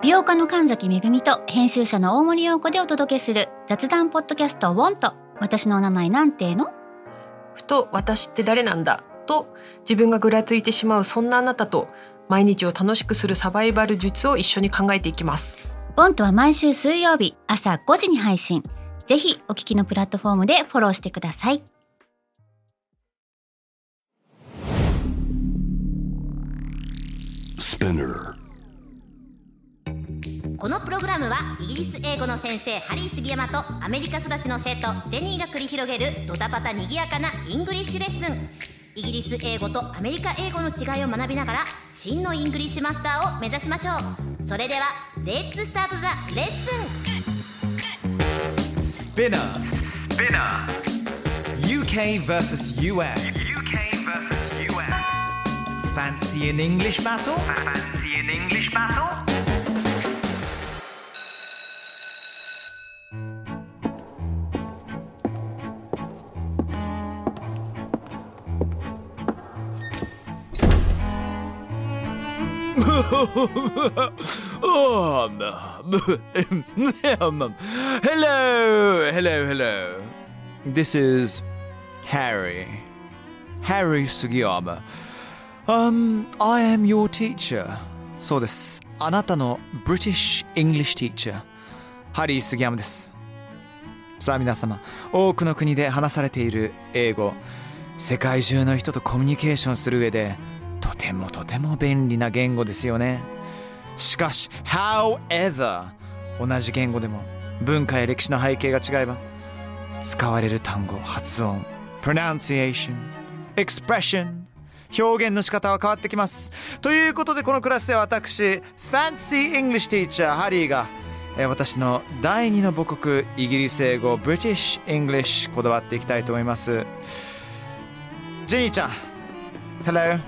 美容家の神崎めぐみと編集者の大森洋子でお届けする雑談ポッドキャストウォンと私のお名前なんての。 ふと私って誰なんだと自分がぐらついてしまうそんなあなたと毎日を楽しくするサバイバル術を一緒に考えていきます。 ウォンとは毎週水曜日朝5時に配信。ぜひお聞きのプラットフォームでフォローしてください。 このプログラムはイギリス英語の先生ハリー杉山とアメリカ育ちの生徒ジェニーが繰り広げるドタパタにぎやかなイングリッシュレッスン。イギリス英語とアメリカ英語の違いを学びながら真のイングリッシュマスターを目指しましょう。それではレッツスタートザレッスン。 Spinner UK vs US Fancy an English battle? Hello. This is Harry Sugiyama. I am your teacher. そうです。あなたの British English teacher ハリー杉山です。さあ皆様、多くの国で話されている英語、世界中の人とコミュニケーションする上でとても便利な言語ですよね。しかし however 同じ言語でも文化や歴史の背景が違えば使われる単語、発音、pronunciation、expression、表現の仕方は変わってきます。ということでこのクラスでは私 Fancy English Teacher ハリーが私の第二の母国イギリス英語 British English こだわっていきたいと思います。ジェニーちゃん Hello。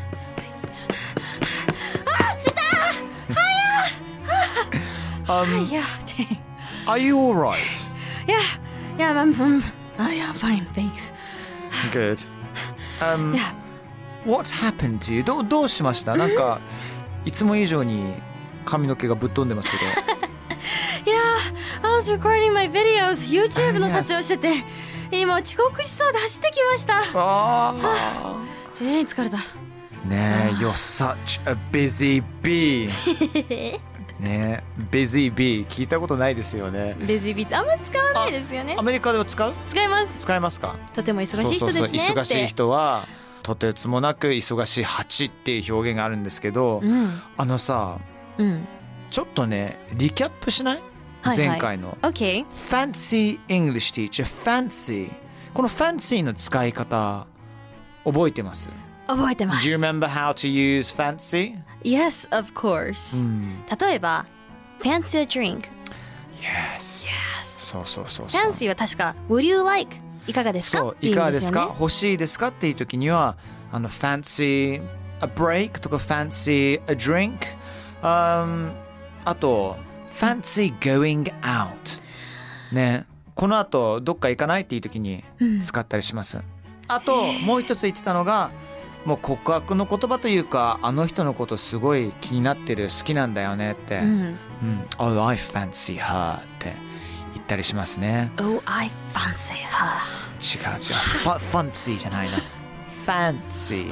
Yeah. Are you alright? Yeah, yeah, fine, thanks. Good. Yeah. What happened to you? どうしました？なんかいつも以上に髪の毛がぶっ飛んでますけど。 Yeah, I was recording my videos. YouTube の撮影をしてて、今遅刻しそうで走ってきました。全員疲れた。 ねえ、You're such a busy bee. ねえ、busy bee 聞いたことないですよね。 busy bee あんまり使わないですよね。 アメリカでは使いますか？ とても忙しい人ですね。そう忙しい人はとてつもなく忙しい蜂っていう表現があるんですけど、さ、ちょっとねリキャップしない？前回の、 Okay. Fancy English Teacher Fancy この Fancy の使い方覚えてます？ 覚えてます。 Do you remember how to use Fancy? Yes, of course、例えば Fancy a drink. Yes. そう Fancy は確か Would you like? いかがですか？ そういかがですか？欲しいですかっていう時にはFancy a break とか Fancy a drink、あとFancy going out ね、この後どっか行かないっていう時に使ったりします、あともう一つ言ってたのがもう告白の言葉というかあの人のことすごい気になってる好きなんだよねって、Oh, I fancy her って言ったりしますね。 Oh, I fancy her 違うfancy じゃないなfancy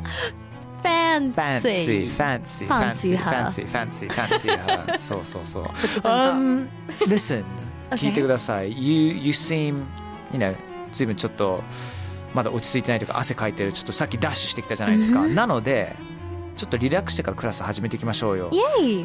fancy her そうListen、聞いてください。 You seem 随分ちょっとまだ落ち着いてないというか汗かいてる、ちょっとさっきダッシュしてきたじゃないですか、なのでちょっとリラックスしてからクラス始めていきましょうよ。 Yay!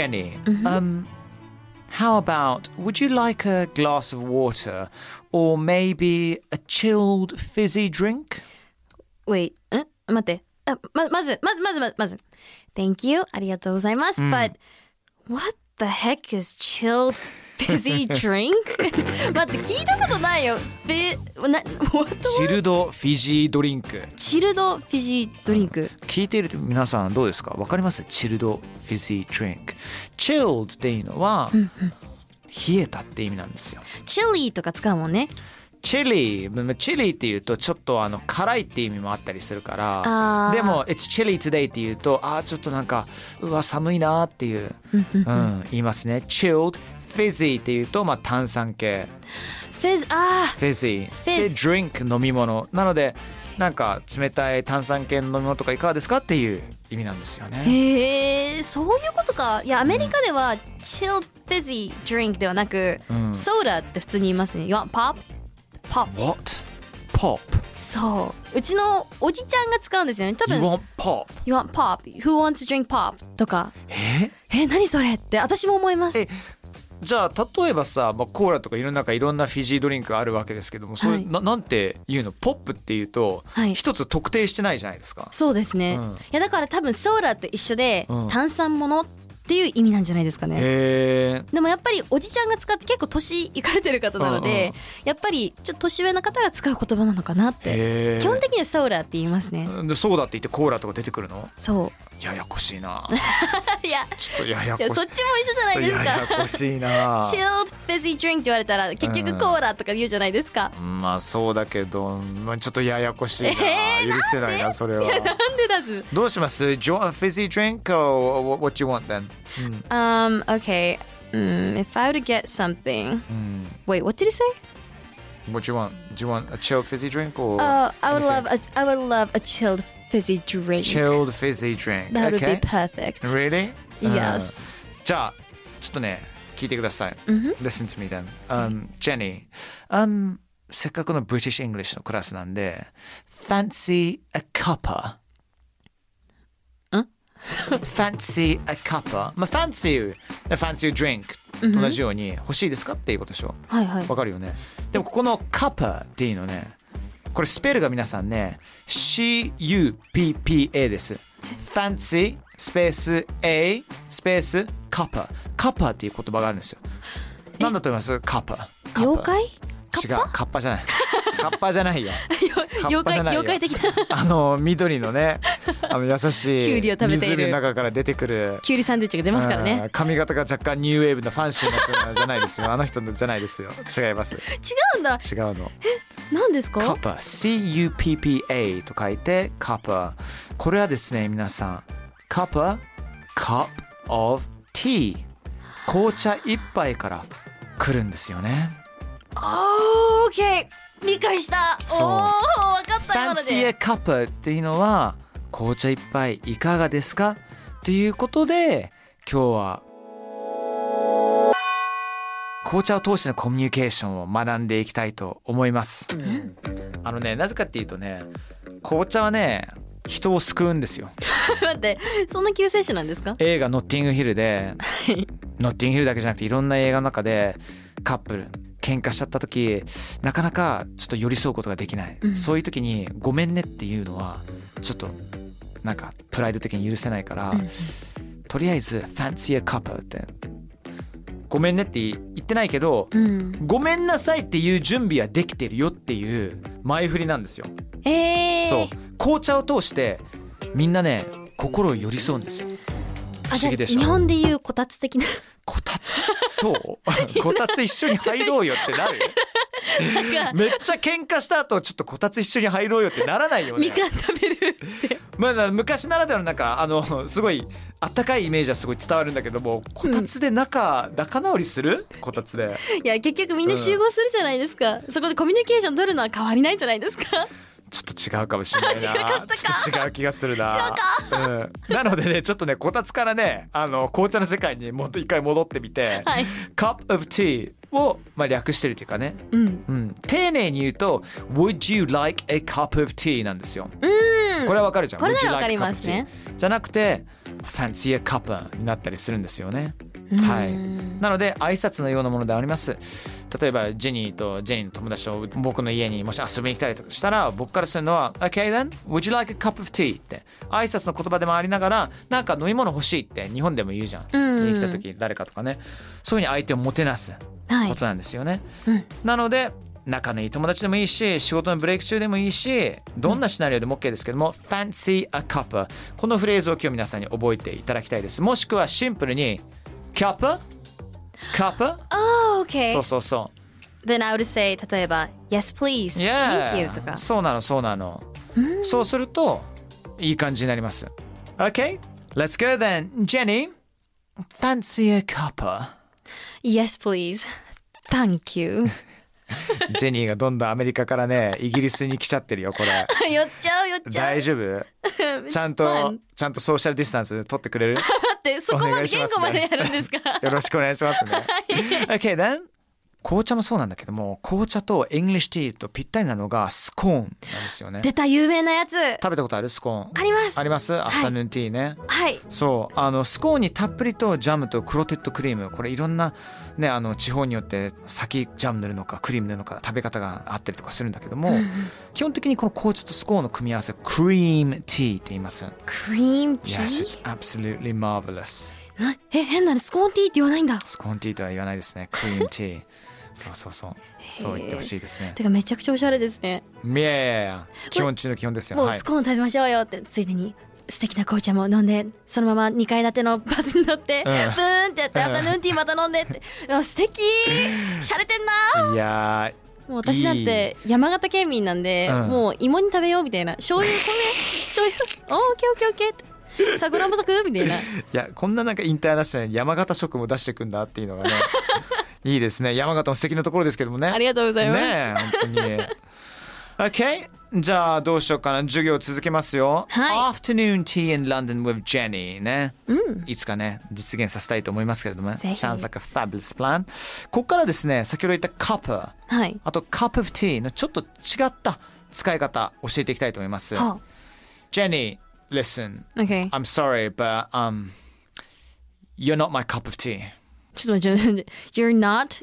Jenny、how about would you like a glass of water or maybe a chilled fizzy drink? Wait, 待ってまず Thank you ありがとうございます、But what the heck is chilled fizzy drink? 待って聞いたことないよ。 チルドフィジードリンク。 チルドフィジードリンク、 聞いている皆さんどうですか？わかります？チルドフィジードリンク。chilled っていうのは、冷えたって意味なんですよ。 チリーとか使うもんね。 チリっていうとちょっと辛いっていう意味もあったりするからあーでも It's chilly today っていうとちょっとなんかうわ寒いなっていう、言いますね。 Chilled fizzy っていうと炭酸系 fizz fizzy で fizz drink 飲み物なのでなんか冷たい炭酸系の飲み物とかいかがですかっていう意味なんですよね。 へえ、そういうことか。いやアメリカでは、chilled fizzy drink ではなく、ソーダって普通に言いますね。You want pop? Pop. What? Pop? そううちのおじちゃんが使うんですよね多 You 分。 want pop? You want pop? Who wants to drink pop? とか何それって私も思います。 じゃあ例えばさ、コーラとかいろんなフィジードリンクあるわけですけども、それ、なんて言うの？ポップっていうと、一つ特定してないじゃないですか。 そうですね、いやだから多分ソーダって一緒で、炭酸ものっていう意味なんじゃないですかね。でもやっぱりおじちゃんが使って結構年いかれてる方なので、やっぱりちょっと年上の方が使う言葉なのかなって。基本的にはソーダって言いますね。 でソーダって言ってコーラとか出てくるの？ そうややこしいな。 いやちょっとややこしい。 そっちも一緒じゃないですか。 ややこしいな。 Chilled fizzy drink って言われたら結局コーラとか言うじゃないですか。 そうだけど、ちょっとややこしいな。許せないなそれは。 なんでだず。 どうします？ Do you want a fizzy drink or what do you want then? Okay. If I were to get something. Wait, what did you say? What do you want? Do you want a chilled fizzy drink or? I would love a chilled fizzy drink. Chilled fizzy drink. That would Okay. be perfect. Really? Yes. じゃあちょっとね聞いてください。Listen to me then. Jenny, せっかくの British English のクラスなんで Fancy a cuppa? Fancy a cuppa? Fancy a drink と同じように欲しいですかっていうことでしょ。 はいはい。 わかるよね。でもここの cuppa っていうのね、これスペルが皆さんね CUPPA です。 Fancy スペース A スペース cuppa っていう言葉があるんですよ。なんだと思います？ cuppa 妖怪？ 違う、カッパじゃない。カッパじゃないよ。 妖怪的な緑のね、優しいキュウリを食べている湖の中から出てくるキュウリサンドイッチが出ますからね。 髪型が若干ニューウェーブのファンシーな人じゃないですよ。あの人じゃないですよ。違います。 違うんだ。 違うの。 何ですか？ カッパ CUPPA と書いてカッパ。これはですね皆さんカッパ Cup of Tea 紅茶一杯から来るんですよね。 OK 理解した。 そう分かった今の Fancy a で。 cup っていうのは紅茶一杯いかがですかということで今日は紅茶を通してのコミュニケーションを学んでいきたいと思います。なぜかっていうとね紅茶はね人を救うんですよ。 待ってそんな救世主なんですか？ 映画ノッティングヒルでノッティングヒルだけじゃなくていろんな映画の中でカップル喧嘩しちゃった時なかなかちょっと寄り添うことができない、そういう時にごめんねっていうのはちょっとなんかプライド的に許せないから、とりあえず Fancy a cup ってごめんねって言ってないけど、ごめんなさいっていう準備はできてるよっていう前振りなんですよ。そう紅茶を通してみんなね心を寄り添うんですよ。不思議でしょ。 日本でいうこたつ的な。 こたつそうこたつ一緒に入ろうよってなるめっちゃ喧嘩した後ちょっとこたつ一緒に入ろうよってならないよね。 みかん食べるって昔ならではのなんかすごいあったかいイメージはすごい伝わるんだけどもこたつで仲直りするこたつでいや結局みんな集合するじゃないですか、そこでコミュニケーション取るのは変わりないんじゃないですか。 ちょっと違うかもしれないな。 違かったか。 ちょっと違う気がするな。 違うか、なのでねちょっとねこたつからね紅茶の世界にもっと一回戻ってみて、 はい、 Cup of Tea を、略してるというかね、丁寧に言うと Would you like a cup of tea なんですよ。これはわかるじゃん。 これならわかりますね。 じゃなくて Fancy a cup になったりするんですよね。はい、なので挨拶のようなものであります。例えばジェニーの友達と僕の家にもし遊びに来たりとかしたら僕からするのは OK then would you like a cup of tea って挨拶の言葉でもありながらなんか飲み物欲しいって日本でも言うじゃん、家に来た時誰かとかねそういうふうに相手をもてなすことなんですよね、なので仲のいい友達でもいいし仕事のブレイク中でもいいしどんなシナリオでも OK ですけども、Fancy a cup このフレーズを今日皆さんに覚えていただきたいです。もしくはシンプルにカップ、 OK。 そう then I would say 例えば Yes please Thank you とかそうなのそうなの、そうするといい感じになります。 OK let's go then Jenny fancy a cuppa Yes please Thank you ジェニーがどんどんアメリカからねイギリスに来ちゃってるよこれ寄っちゃう大丈夫ちゃんとソーシャルディスタンス取ってくれる待ってそこまで言語までやるんですかよろしくお願いしますねOK then 紅茶もそうなんだけども紅茶とイングリッシュティーとぴったりなのがスコーンなんですよね。 出た有名なやつ食べたことあるスコーンありますありますアフタヌーンティーねはいそうスコーンにたっぷりとジャムとクロテッドクリームこれいろんなね地方によって先ジャム塗るのかクリーム塗るのか食べ方があったりとかするんだけども、基本的にこの紅茶とスコーンの組み合わせクリームティーって言います。 クリームティー Yes it's absolutely marvelous 変なのスコーンティーって言わないんだスコーンティーとは言わないですねクリームティーそう言ってほしいですね。 てかめちゃくちゃおしゃれですね。 いや基本中の基本ですよ。 もうスコーン食べましょうよってついでに素敵な紅茶も飲んでそのまま2階建てのバスに乗って、ブーンってやってアフタヌーンティーまた飲んでって素敵しゃれてんな。 いやもう私なんて山形県民なんで、もう芋に食べようみたいな醤油オッケーオッケーって桜も咲くみたいな。いやこんななんかインターナショナルに山形食も出していくんだっていうのがねいいですね。山形も素敵なところですけどもね。 ありがとうございますね本当にOK じゃあどうしようかな授業続けますよ、 はい、 Afternoon tea in London with Jenny ね、いつかね実現させたいと思いますけれども Sounds like a fabulous plan。 ここからですね先ほど言った cup、はい、あと cup of tea のちょっと違った使い方教えていきたいと思います、Jenny listen、 okay. I'm sorry but you're not my cup of tea。 ちょっと待ってYou're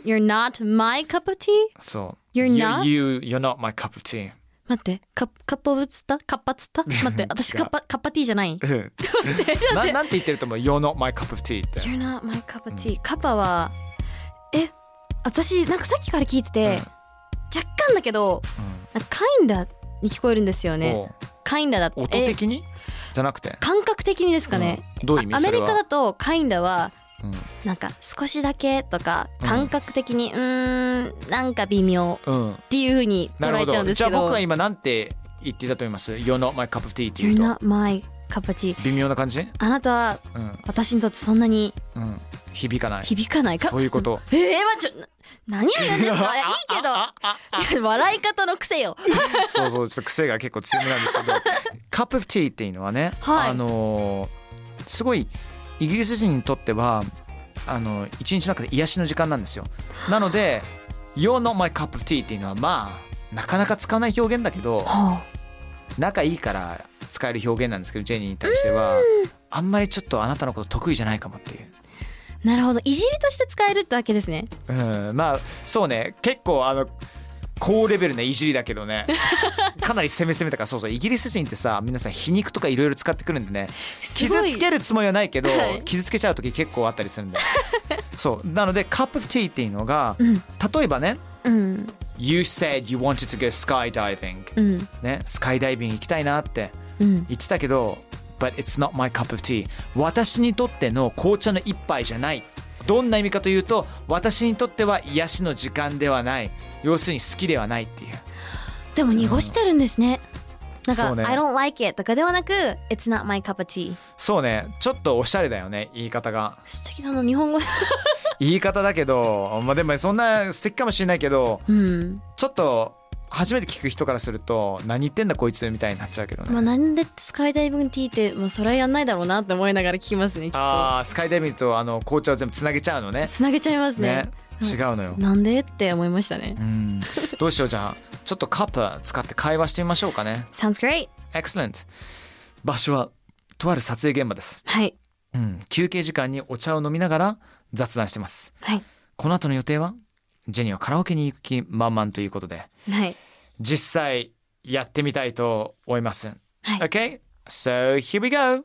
not my cup of tea? そう You're not my cup of tea。 待ってカッパぶつったカッパつった待って私カッパティーじゃないなんて言ってると思う You're not my cup of tea って You're not my cup of tea、カッパは私なんかさっきから聞いてて、若干だけど、kinda に聞こえるんですよね。kinda だ音的にじゃなくて感覚的にですかね、 どういう意味？ アメリカだと kinda はなんか少しだけとか感覚的になんか微妙っていう風に捉えちゃうんですけど、 じゃあ僕は今なんて言ってたと思います You're not my cup of tea って言うと You're not my cup of tea 微妙な感じ？ あなたは私にとってそんなに響かないそういうこと何を言うんですかいいけど笑い方の癖よそうちょっと癖が結構強めなんですけどカップオブティーっていうのはね、すごいイギリス人にとっては一日の中で癒しの時間なんですよ。なので You're not my cup of tea っていうのはまあなかなか使わない表現だけど、仲いいから使える表現なんですけどジェニーに対してはあんまりちょっとあなたのこと得意じゃないかもっていう。 なるほどいじりとして使えるってわけですね。 まあそうね結構高レベルないじりだけどねかなり攻めたからそうイギリス人ってさ皆さん皮肉とかいろいろ使ってくるんでね傷つけるつもりはないけど、傷つけちゃう時結構あったりするんでそうなのでカップオブティーっていうのが、例えばね、You said you wanted to go skydiving、ね、スカイダイビング行きたいなって言ってたけど、But it's not my cup of tea 私にとっての紅茶の一杯じゃない。どんな意味かというと私にとっては癒しの時間ではない、要するに好きではないっていう。 でも濁してるんですね、なんか、I don't like it とかではなく It's not my cup of tea。 そうねちょっとおしゃれだよね言い方が。 素敵なの日本語言い方だけど、でもそんな素敵かもしれないけど、ちょっと初めて聞く人からすると何言ってんだこいつみたいになっちゃうけどね。 なんでスカイダイビングティーってもうそれはやんないだろうなって思いながら聞きますねきっと。 スカイダイビングと紅茶を全部つなげちゃうのね。 つなげちゃいますね。 違うのよ。 なんでって思いましたね。 どうしようじゃあちょっとカップ使って会話してみましょうかね。 Sounds great。 Excellent。 場所はとある撮影現場です。 はい、 休憩時間にお茶を飲みながら雑談してます。 はい、 この後の予定はジェニーはカラオケに行く気満々ということで、 はい、 実際やってみたいと思います。 はい、 Okay, so here we go.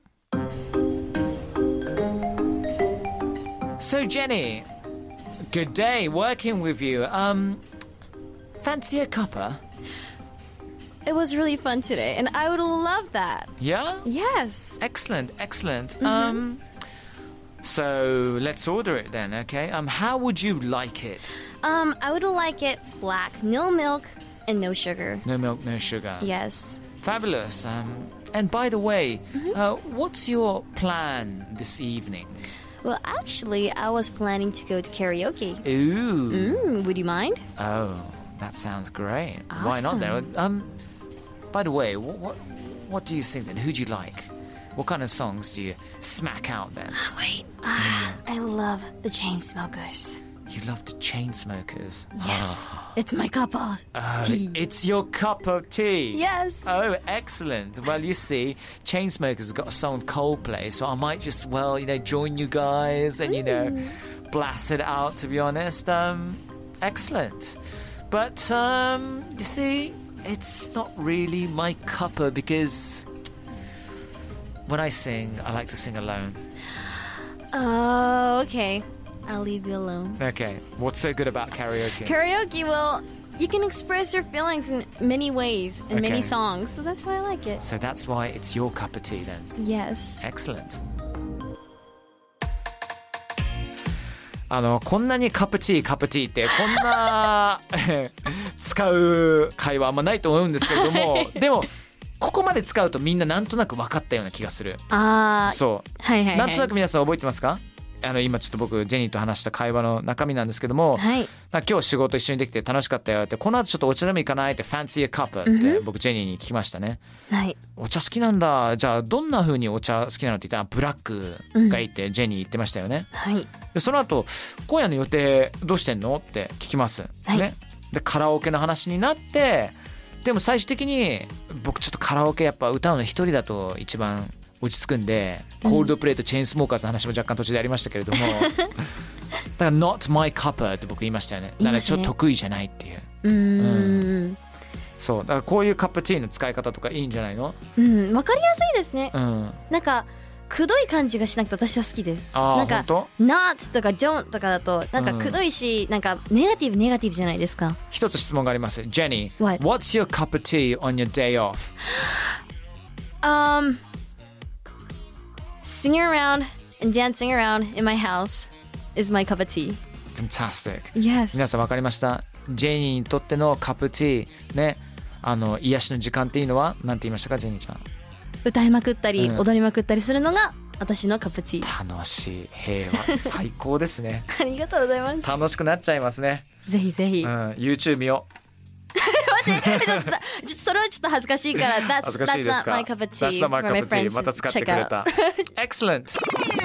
So Jenny, good day working with you. Fancy a cuppa? It was really fun today, and I would love that. Yeah? Yes. Excellent. So let's order it then, okay? How would you like it? I would like it black, no milk and no sugar. No milk, no sugar. Yes. Fabulous. And by the way, what's your plan this evening? Well, actually, I was planning to go to karaoke. Ooh. Would you mind? Oh, that sounds great. Why not Awesome. then? By the way, what do you sing then? Who do you like? What kind of songs do you smack out then? Wait, I love the Chainsmokers. You love the Chainsmokers. Yes, it's my cup of tea. It's your cup of tea. Yes. Oh, excellent. Well, you see, Chainsmokers has got a song with Coldplay, so I might just, join you guys and, blast it out, to be honest. Excellent. But, you see, it's not really my cuppa because when I sing, I like to sing alone. Oh, okay. I'll leave you alone. Okay. What's so good about karaoke? Karaoke, well, you can express your feelings in many ways, in Okay. many songs, so that's why I like it. So that's why it's your cup of tea then. Yes. Excellent. こんなにカプティーってこんな使う会話あんまないと思うんですけれどもでもここまで使うとみんななんとなく分かったような気がする。そうはいはいはい。 なんとなく皆さん覚えてますか？今ちょっと僕ジェニーと話した会話の中身なんですけども、 はい。 今日仕事一緒にできて楽しかったよってこの後ちょっとお茶でも行かないってファンシーカップって僕ジェニーに聞きましたね。 はい。 お茶好きなんだ。じゃあどんな風にお茶好きなのって言ったらブラックがいいってジェニー言ってましたよね。 はい。 でその後今夜の予定どうしてんのって聞きます、 はいね、でカラオケの話になってでも最終的に僕ちょっとカラオケやっぱ歌うの一人だと一番落ち着くんで、コールドプレイとチェーンスモーカーズの話も若干途中でありましたけれどもだから not my cuppa って僕言いましたよね。だからちょっと得意じゃないっていう。そうだからこういうカップティーの使い方とかいいんじゃないの？ わかりやすいですね。なんかくどい感じがしなくて私は好きです。なんか not とか don't とかだとなんかくどいし、なんかネガティブじゃないですか。 一つ質問があります。ジェニー、 What? What's your cup of tea on your day off? Singing around and dancing around in my house is my cup of tea. Fantastic. Yes. 皆さん分かりました？ジェニーにとってのカップティーね、癒しの時間っていうのは何て言いましたか、ジェニーちゃん？ 歌いまくったり、踊りまくったりするのが私のカップティー。 楽しい、平和、最高ですね。 ありがとうございます。 楽しくなっちゃいますね。 ぜひぜひ。 YouTube 見よう。 待って、ちょっとそれはちょっと恥ずかしいから。 恥ずかしいですか？ That's not my cup of tea. That's not my for my cup of tea. friends また使ってくれ check out. た。Excellent.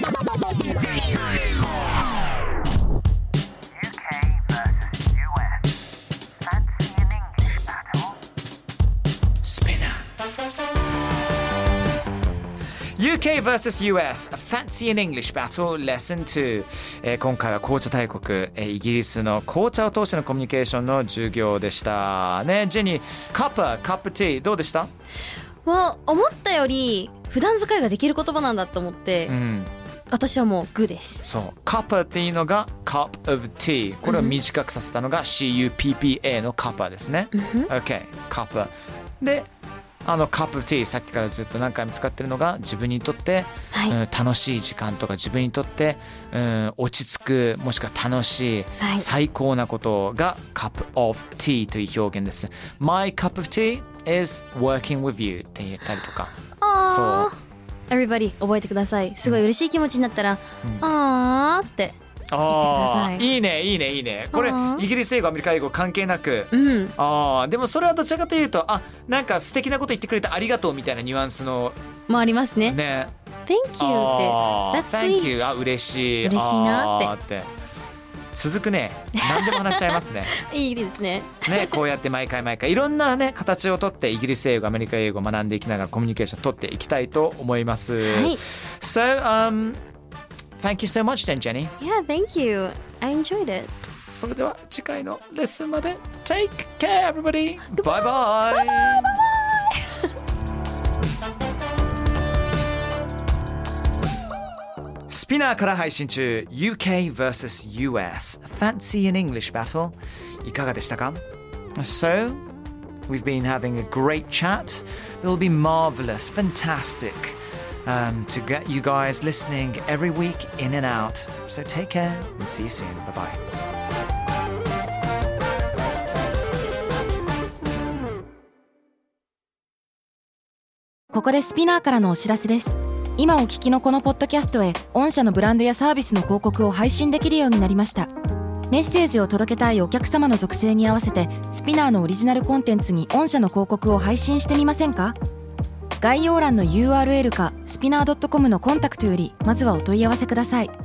UK vs US Fancy in English Battle Lesson 2、今回は紅茶大国、イギリスの紅茶を通してのコミュニケーションの授業でしたね。ジェニー、カップティーどうでした？ 思ったより普段使いができる言葉なんだと思って、私はもうグーです。 そう、カッパっていうのが cup of tea、 これを短くさせたのが CUPPA のカッパですね。OK、カッパでカップティー、さっきからずっと何回も使ってるのが自分にとって、楽しい時間とか自分にとって、落ち着くもしくは楽しい、最高なことがカップ of tea という表現です。My cup of tea is working with you って言ったりとか。そう。 Everybody 覚えてください。すごい嬉しい気持ちになったら、あーって言ってください。 いいね。これイギリス英語アメリカ英語関係なく、でもそれはどちらかというとなんか素敵なこと言ってくれてありがとうみたいなニュアンスのもありますね。 ね。 Thank you って That's Thank sweet. you 嬉しいなって続くね。何でも話しちゃいますね。 いいですね。 ね、こうやって毎回いろんなね形をとってイギリス英語アメリカ英語を学んでいきながらコミュニケーションを取っていきたいと思います。So thank you so much then, Jenny. Yeah, thank you. I enjoyed it. それでは次回のレッスンまで Take care everybody. Bye bye. スピナーから配信中 UK vs US Fancy in English Battle いかがでしたか？ So we've been having a great chat. It'll be marvelous, fantastic to get you guys listening every week in and out. So take care and see you soon. Bye bye. ここでスピナーからのお知らせです。今お聞きのこのポッドキャストへ御社のブランドやサービスの広告を配信できるようになりました。メッセージを届けたいお客様の属性に合わせてスピナーのオリジナルコンテンツに御社の広告を配信してみませんか？概要欄の URL かスピナー .com のコンタクトよりまずはお問い合わせください。